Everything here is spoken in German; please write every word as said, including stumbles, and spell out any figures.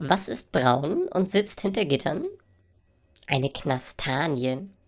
Was ist braun und sitzt hinter Gittern? Eine Knastanie.